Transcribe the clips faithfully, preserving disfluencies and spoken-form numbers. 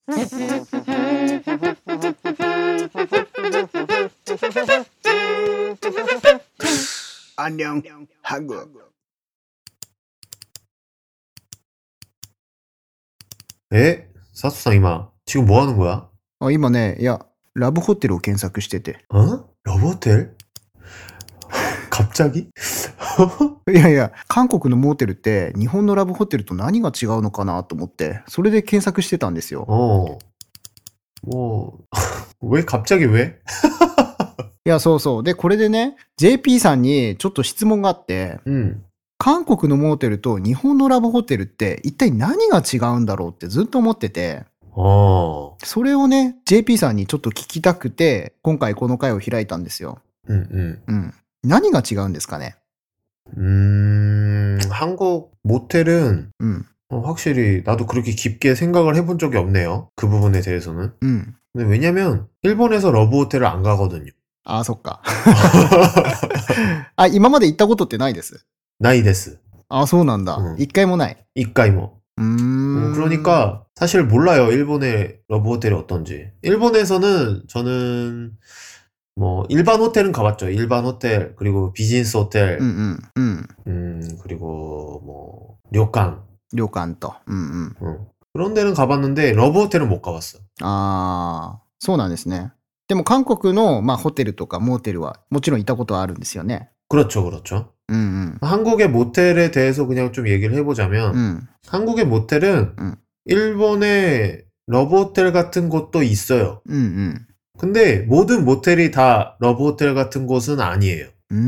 안녕 한국. 에? 사수상 이마 지금 뭐 하는 거야? あ、今ね、いや、ラブホテルを検索してて。 어? 러브호텔? 갑자기? いやいや、韓国のモーテルって日本のラブホテルと何が違うのかなと思って、それで検索してたんですよ。 어. 뭐, 왜 갑자기 왜? いや、そうそう。で、これでね、ジェーピー さんにちょっと質問があって、 음. 韓国のモーテルと日本のラブホテルって一体何が違うんだろうってずっと思ってて、 어. それをね、ジェーピー さんにちょっと聞きたくて、今回この回を開いたんですよ。 음, 음. うん。何が違うんですかね? 음, 한국 모텔은 음. 어, 확실히 나도 그렇게 깊게 생각을 해본 적이 없네요. 그 부분에 대해서는. 음. 근데 왜냐면 일본에서 러브호텔을 안 가거든요. あ、そっか。あ、今まで行ったことってないです。 나이 데스. あ、そうなんだ。 음. 一回もない。 이까이모. 음. 어, 그러니까 사실 몰라요. 일본의 러브호텔이 어떤지. 일본에서는 저는 뭐 일반 호텔은 가봤죠. 일반 호텔 그리고 비즈니스 호텔. 음, 음, 음. 음, 그리고 뭐 료칸. 旅館と。うんうん。 음. 그런 데는 가봤는데 러브호텔은 못 가봤어. ああ、そうなんですね。でも韓国の、まあ、ホテルとかモーテルはもちろん行ったことはあるんですよね。 그렇죠, 그렇죠. 음, 음. 한국의 모텔에 대해서 그냥 좀 얘기를 해보자면 음. 한국의 모텔은 음. 일본의 러브호텔 같은 곳도 있어요. 음, 음. 근데 모든 모텔이 다 러브호텔 같은 곳은 아니에요.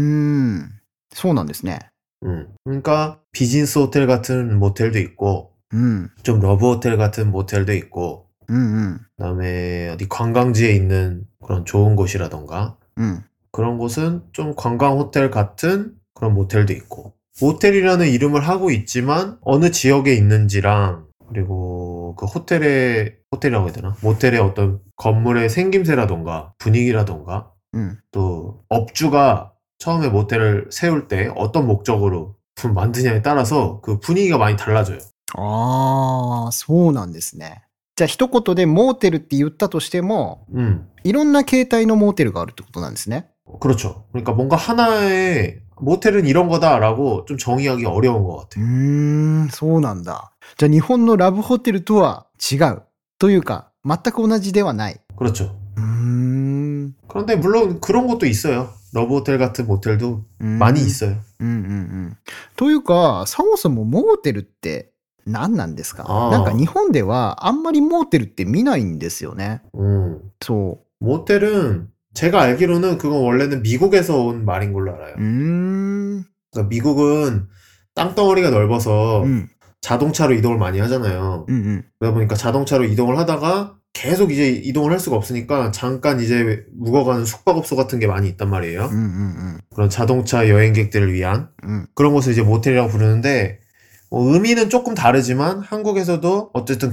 음. そうなんですね。 음. 그러니까 비즈니스 호텔 같은 모텔도 있고 음. 좀 러브호텔 같은 모텔도 있고 음, 음. 그다음에 어디 관광지에 있는 그런 좋은 곳이라던가 음. 그런 곳은 좀 관광 호텔 같은 그런 모텔도 있고 모텔이라는 이름을 하고 있지만 어느 지역에 있는지랑 그리고 그 호텔의 호텔이라고 해야 되나? 모텔의 어떤 건물의 생김새라던가 분위기라던가 음. 또 업주가 처음에 모텔을 세울 때 어떤 목적으로 만드냐에 따라서 그 분위기가 많이 달라져요. ああ、そうなんですね。じゃあ一言でモーテルって言ったとしても、 음, いろんな形態のモーテルがあるってことなんですね。 그렇죠. 그러니까 뭔가 하나의 모텔은 이런 거다라고 좀 정의하기 어려운 것 う 같아요. ーん、そうなんだ。じゃあ日本のラブホテルとは違う。というか、全く同じではない。 그렇죠. うーん。 그런데 물론 그런 것도 있어요. 러브호텔 같은 모텔도 うーん 많이 있어요. うんうんうん。というか、そもそもモーテルって何なんですか？ あーなんか日本ではあんまりモーテルって見ないんですよね。 음. そ 모텔은 제가 알기로는 그건 원래는 미국에서 온 말인 걸로 알아요. う。うーん。 그러니까 미국은 땅덩어리가 넓어서 うん。 자동차로 이동을 많이 하잖아요. うんうん。 그러다 보니까 자동차로 이동을 하다가 계속 이제 이동을 할 수가 없으니까 잠깐 이제 묵어가는 숙박업소 같은 게 많이 있단 말이에요. うんうん 그런 자동차 여행객들을 위한 うん。うん。 그런 곳을 이제 모텔이라고 부르는데 어, 의미는 조금 다르지만 한국에서도 어쨌든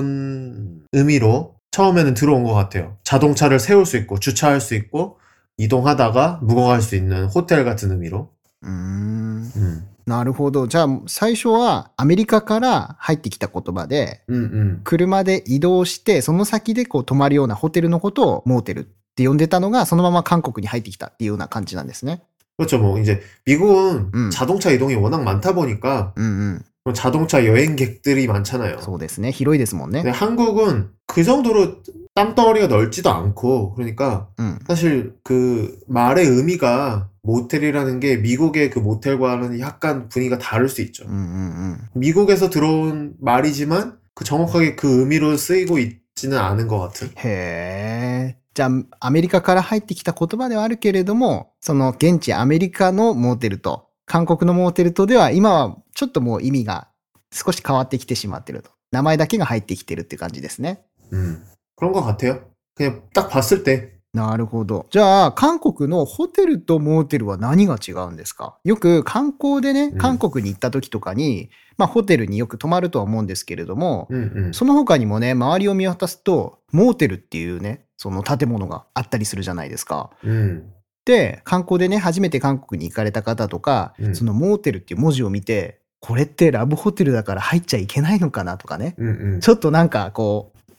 그런 의미로 처음에는 들어온 것 같아요. 자동차를 세울 수 있고 주차할 수 있고 이동하다가 묵어갈 수 있는 호텔 같은 의미로. うーん。 음, なるほど。じゃあ最初はアメリカから入ってきた言葉で、 음, 음. 車で移動してその先でこう泊まるようなホテルのことをモーテルって呼んでたのがそのまま韓国に入ってきたっていうような感じなんですね。 그렇죠. 뭐 이제 미국은 음. 자동차 이동이 워낙 많다 보니까 うんうん。 자동차 여행객들이 많잖아요. そうですね。広いですもんね。 근데 한국은 그 정도로 땅덩어리가 넓지도 않고 그러니까 うん。 사실 그 말의 의미가 모텔이라는 게 미국의 그 모텔과는 약간 분위기가 다를 수 있죠. うんうんうん。 미국에서 들어온 말이지만 그 정확하게 그 의미로 쓰이고 있지는 않은 것 같은. へえ。じゃあアメリカから入ってきた言葉ではあるけれども、その現地アメリカのモーテルと韓国のモーテルとでは今はちょっともう意味が少し変わってきてしまってると。名前だけが入ってきてるって感じですね。 음, 그런 것 같아요. 그냥 딱 봤을 때. なるほど。じゃあ、韓国のホテルとモーテルは何が違うんですか？よく観光でね、 うん韓国に行った時とかに、まあホテルによく泊まるとは思うんですけれども、 음, 음. その他にもね、周りを見渡すと、モーテルっていうね、その建物があったりするじゃないですか。 음. で、観光でね、初めて韓国に行かれた方とか、 うんそのモーテルっていう文字を見て、これってラブホテルだから入っちゃいけないのかなとかね。 음, 음. ちょっとなんかこう、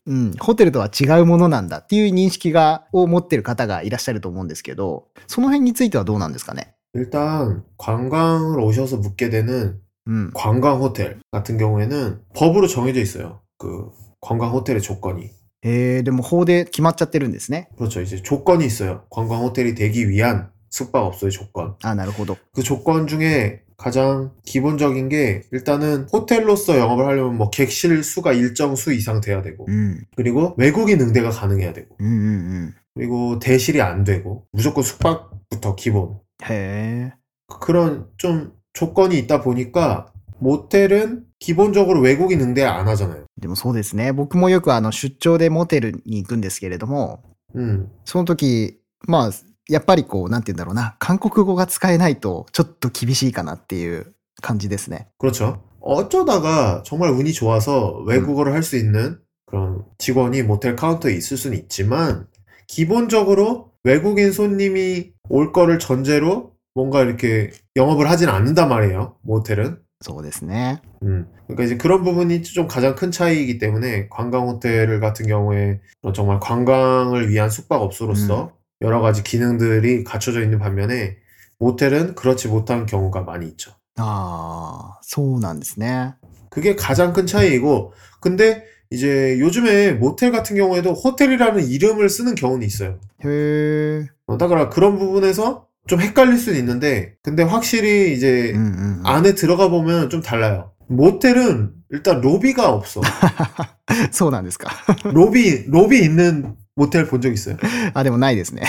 うん、ホテルとは違うものなんだっていう認識が、を持ってる方がいらっしゃると思うんですけど、その辺についてはどうなんですかね? 일단 관광을 오셔서 묵게 되는 음. 관광 호텔 같은 경우에는 법으로 정해져 있어요. 그 관광 호텔의 조건이. へえ、でも法で決まっちゃってるんですね。 그렇죠. 이제 조건이 있어요. 관광 호텔이 되기 위한 숙박업소의 조건. あ、なるほど。 그 조건 중에 가장 기본적인 게 일단은 호텔로서 영업을 하려면 뭐 객실 수가 일정 수 이상 돼야 되고, うん。 그리고 외국인 응대가 가능해야 되고, うんうんうん。 그리고 대실이 안 되고, 무조건 숙박부터 기본. へえ。 그런 좀 조건이 있다 보니까 모텔은 기본적으로 외국인 응대 안 하잖아요. でもそうですね。僕もよくあの出張でモテルに行くんですけれども、 음, その時、まあ、やっぱりこう、なんて言うんだろうな、韓国語が使えないとちょっと厳しいかなっていう感じですね。 그렇죠. 어쩌다가 정말 운이 좋아서 외국어를 할 수 있는 그런 직원이 모텔 카운터에 있을 수는 있지만 기본적으로 외국인 손님이 올 거를 전제로 뭔가 이렇게 영업을 하진 않는단 말이에요. 모텔은. そうですね。 음, 그러니까 이제 그런 부분이 좀 가장 큰 차이이기 때문에 관광 호텔 같은 경우에 정말 관광을 위한 숙박업소로서 여러 가지 기능들이 갖춰져 있는 반면에 모텔은 그렇지 못한 경우가 많이 있죠. ああ、そうなんですね。 그게 가장 큰 차이이고, 근데 이제 요즘에 모텔 같은 경우에도 호텔이라는 이름을 쓰는 경우는 있어요. へえ。 어, 그러니까 그런 부분에서 좀 헷갈릴 수는 있는데, 근데 확실히 이제 うんうんうん。 안에 들어가 보면 좀 달라요. 모텔은 일단 로비가 없어. そうなんですか。 로비, 로비 있는 모텔 본 적 있어요? あ、でもないですね。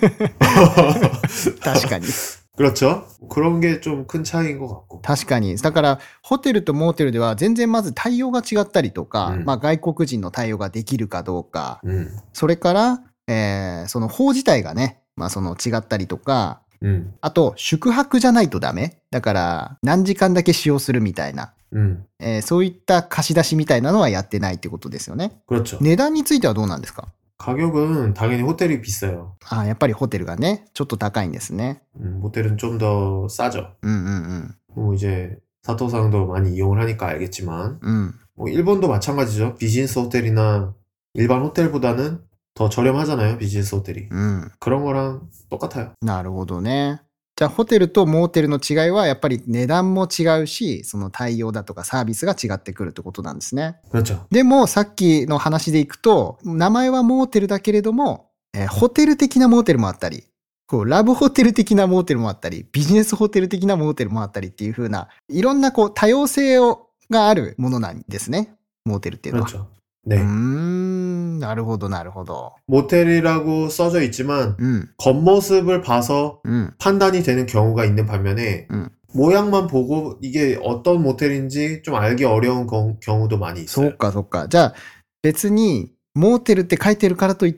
確かに。 그렇죠. 그런 게 좀 큰 차이인 것 같고. 確かに。だから、ホテルとモーテルでは全然まず対応が違ったりとか、 うんまあ外国人の対応ができるかどうか、 음, それから、えーその法自体がね、まあその違ったりとか、 음, あと宿泊じゃないとダメ。だから何時間だけ使用するみたいな、 음, えーそういった貸し出しみたいなのはやってないってことですよね。 그렇죠. 値段についてはどうなんですか? 가격은 당연히 호텔이 비싸요. あ、やっぱりホテルがね、ちょっと高いんですね。 음, 모텔은 좀 더 싸죠. うんうん 뭐 이제 사토상도 많이 이용을 하니까 알겠지만, うん。うん。 뭐 일본도 마찬가지죠. 비즈니스 호텔이나 일반 호텔보다는 더 저렴하잖아요. 비즈니스 호텔이. うん。 그런 거랑 똑같아요. なるほどね。じゃあホテルとモーテルの違いはやっぱり値段も違うし、その対応だとかサービスが違ってくるってことなんですね。 그렇죠. でもさっきの話でいくと、名前はモーテルだけれども、えーホテル的なモーテルもあったり、こうラブホテル的なモーテルもあったり、ビジネスホテル的なモーテルもあったりっていう風な、いろんなこう多様性をがあるものなんですね。モーテルっていうのは。 그렇죠. う 네. ーん、なるほどなるほど。 모텔이라고 써져 있지만 うん、 겉모습을 봐서 うん、 판단이 되는 경우가 있는 반면에 음. 모양만 보고 이게 어떤 모텔인지 좀 알기 어려운 거- 경우도 많이 そ 있어요. うかそっか。じゃあ別にモーテルって書いてるからといって、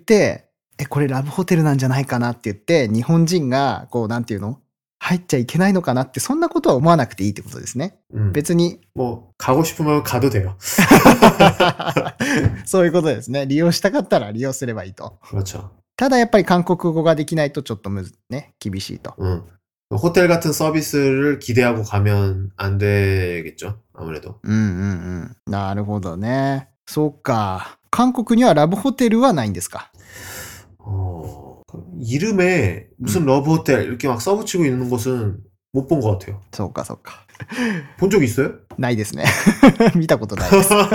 え、これラブホテルなんじゃないかなって言って、日本人がこうなんていうの入っちゃいけないのかなって、そんなことは思わなくていいってことですね。 음, 別に 뭐 가고 싶으면 가도 돼요. そういうことですね。利用したかったら利用すればいいと。 그렇죠. ただやっぱり韓国語ができないとちょっとむずね、厳しいと。 음. 호텔 같은 서비스를 기대하고 가면 안 되겠죠. 아무래도. うんうんうん。なるほどね。そうか。韓国にはラブホテルはないんですか? 어, 이름에 무슨 러브 호텔 이렇게 막 써붙이고 있는 곳은 못 본 것 같아요. そうかそうか。 본 적 있어요? ないですね。見たことないです。 어,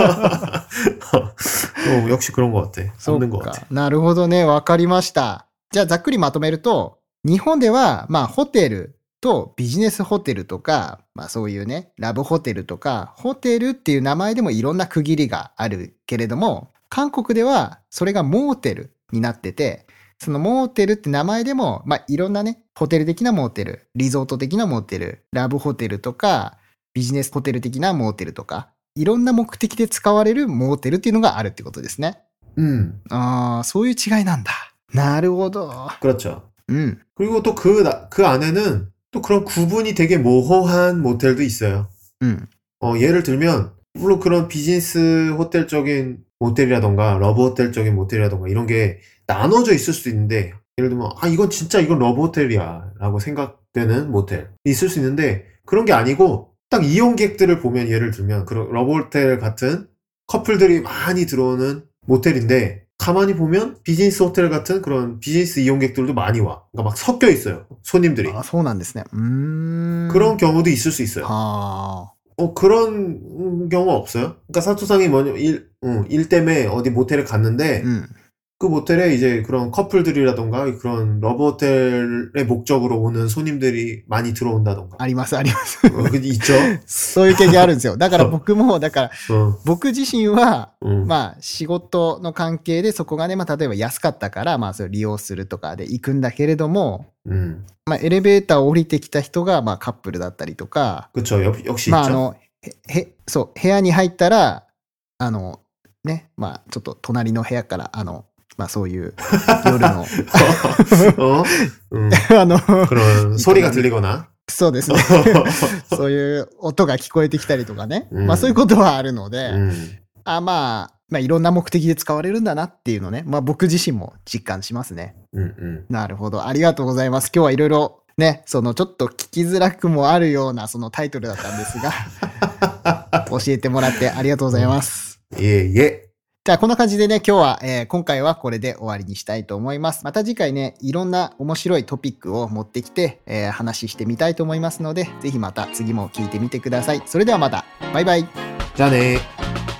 역시 그런 것 같아. そう 없는 것 か 같아. なるほどね。わかりました。じゃあざっくりまとめると、日本では、まあホテルとビジネスホテルとか、まあそういうね、ラブホテルとか、ホテルっていう名前でもいろんな区切りがあるけれども、韓国ではそれがモーテルになってて、そのモーテルって名前でも、まあいろんなね、ホテル的なモーテル、リゾート的なモーテル、ラブホテルとか、ビジネスホテル的なモーテルとか、いろんな目的で使われるモーテルっていうのがあるってことですね。 음, ああ、そういう違いなんだ。なるほど。 그렇죠. うん。 그리고 또 그, 그 안에는 또 그런 구분이 되게 모호한 모텔도 있어요. うん。 어, 예를 들면, 물론 그런 비즈니스 호텔적인 모텔이라던가, 러브 호텔적인 모텔이라던가, 이런 게 나눠져 있을 수도 있는데, 예를 들면, 아, 이건 진짜 이건 러브 호텔이야. 라고 생각되는 모텔이 있을 수 있는데, 그런 게 아니고, 딱 이용객들을 보면 예를 들면, 그런 러브 호텔 같은 커플들이 많이 들어오는 모텔인데 가만히 보면 비즈니스 호텔 같은 그런 비즈니스 이용객들도 많이 와. 그러니까 막 섞여 있어요. 손님들이. 아,そうなんですね。うーん。 그런 경우도 있을 수 있어요. 아, 어, 그런 경우 없어요? 그러니까 사토상이 뭐냐, 일, 응, 일 때문에 어디 모텔에 갔는데, 음. 그 모텔에 이제 그런 커플들이라던가 그런 러브 호텔의 목적으로 오는 손님들이 많이 들어온다던가. あります、あります。 어, 그 있죠? そういう経験あるんですよ。だから僕も、だから、 어, 僕自身は、 응, まあ、仕事の関係でそこがね、まあ、例えば安かったから、まあ、それを利用するとかで行くんだけれども、 응. まあ、エレベーターを降りてきた人が、まあ、カップルだったりとか、 그쵸, 역, 역시 まあ、あ 있죠? の、へ、へ、そう、部屋に入ったら、あの、ね、まあ、ちょっと隣の部屋から、あの、まあ、そういう夜の、 어? 응. あの、 그런 소리가 들리거나. そうですね。そういう音が聞こえてきたりとかね。 うんまあそういうことはあるので、 응. あまあ、まあいろんな目的で使われるんだなっていうのね。まあ僕自身も実感しますね。 응, 응. なるほど。ありがとうございます。今日はいろいろね、そのちょっと聞きづらくもあるようなそのタイトルだったんですが、教えてもらってありがとうございます。 예, 예. じゃあこんな感じでね、今日は、えー今回はこれで終わりにしたいと思います。また次回ね、いろんな面白いトピックを持ってきて、えー話してみたいと思いますので、ぜひまた次も聞いてみてください。それではまた。バイバイ。 자네.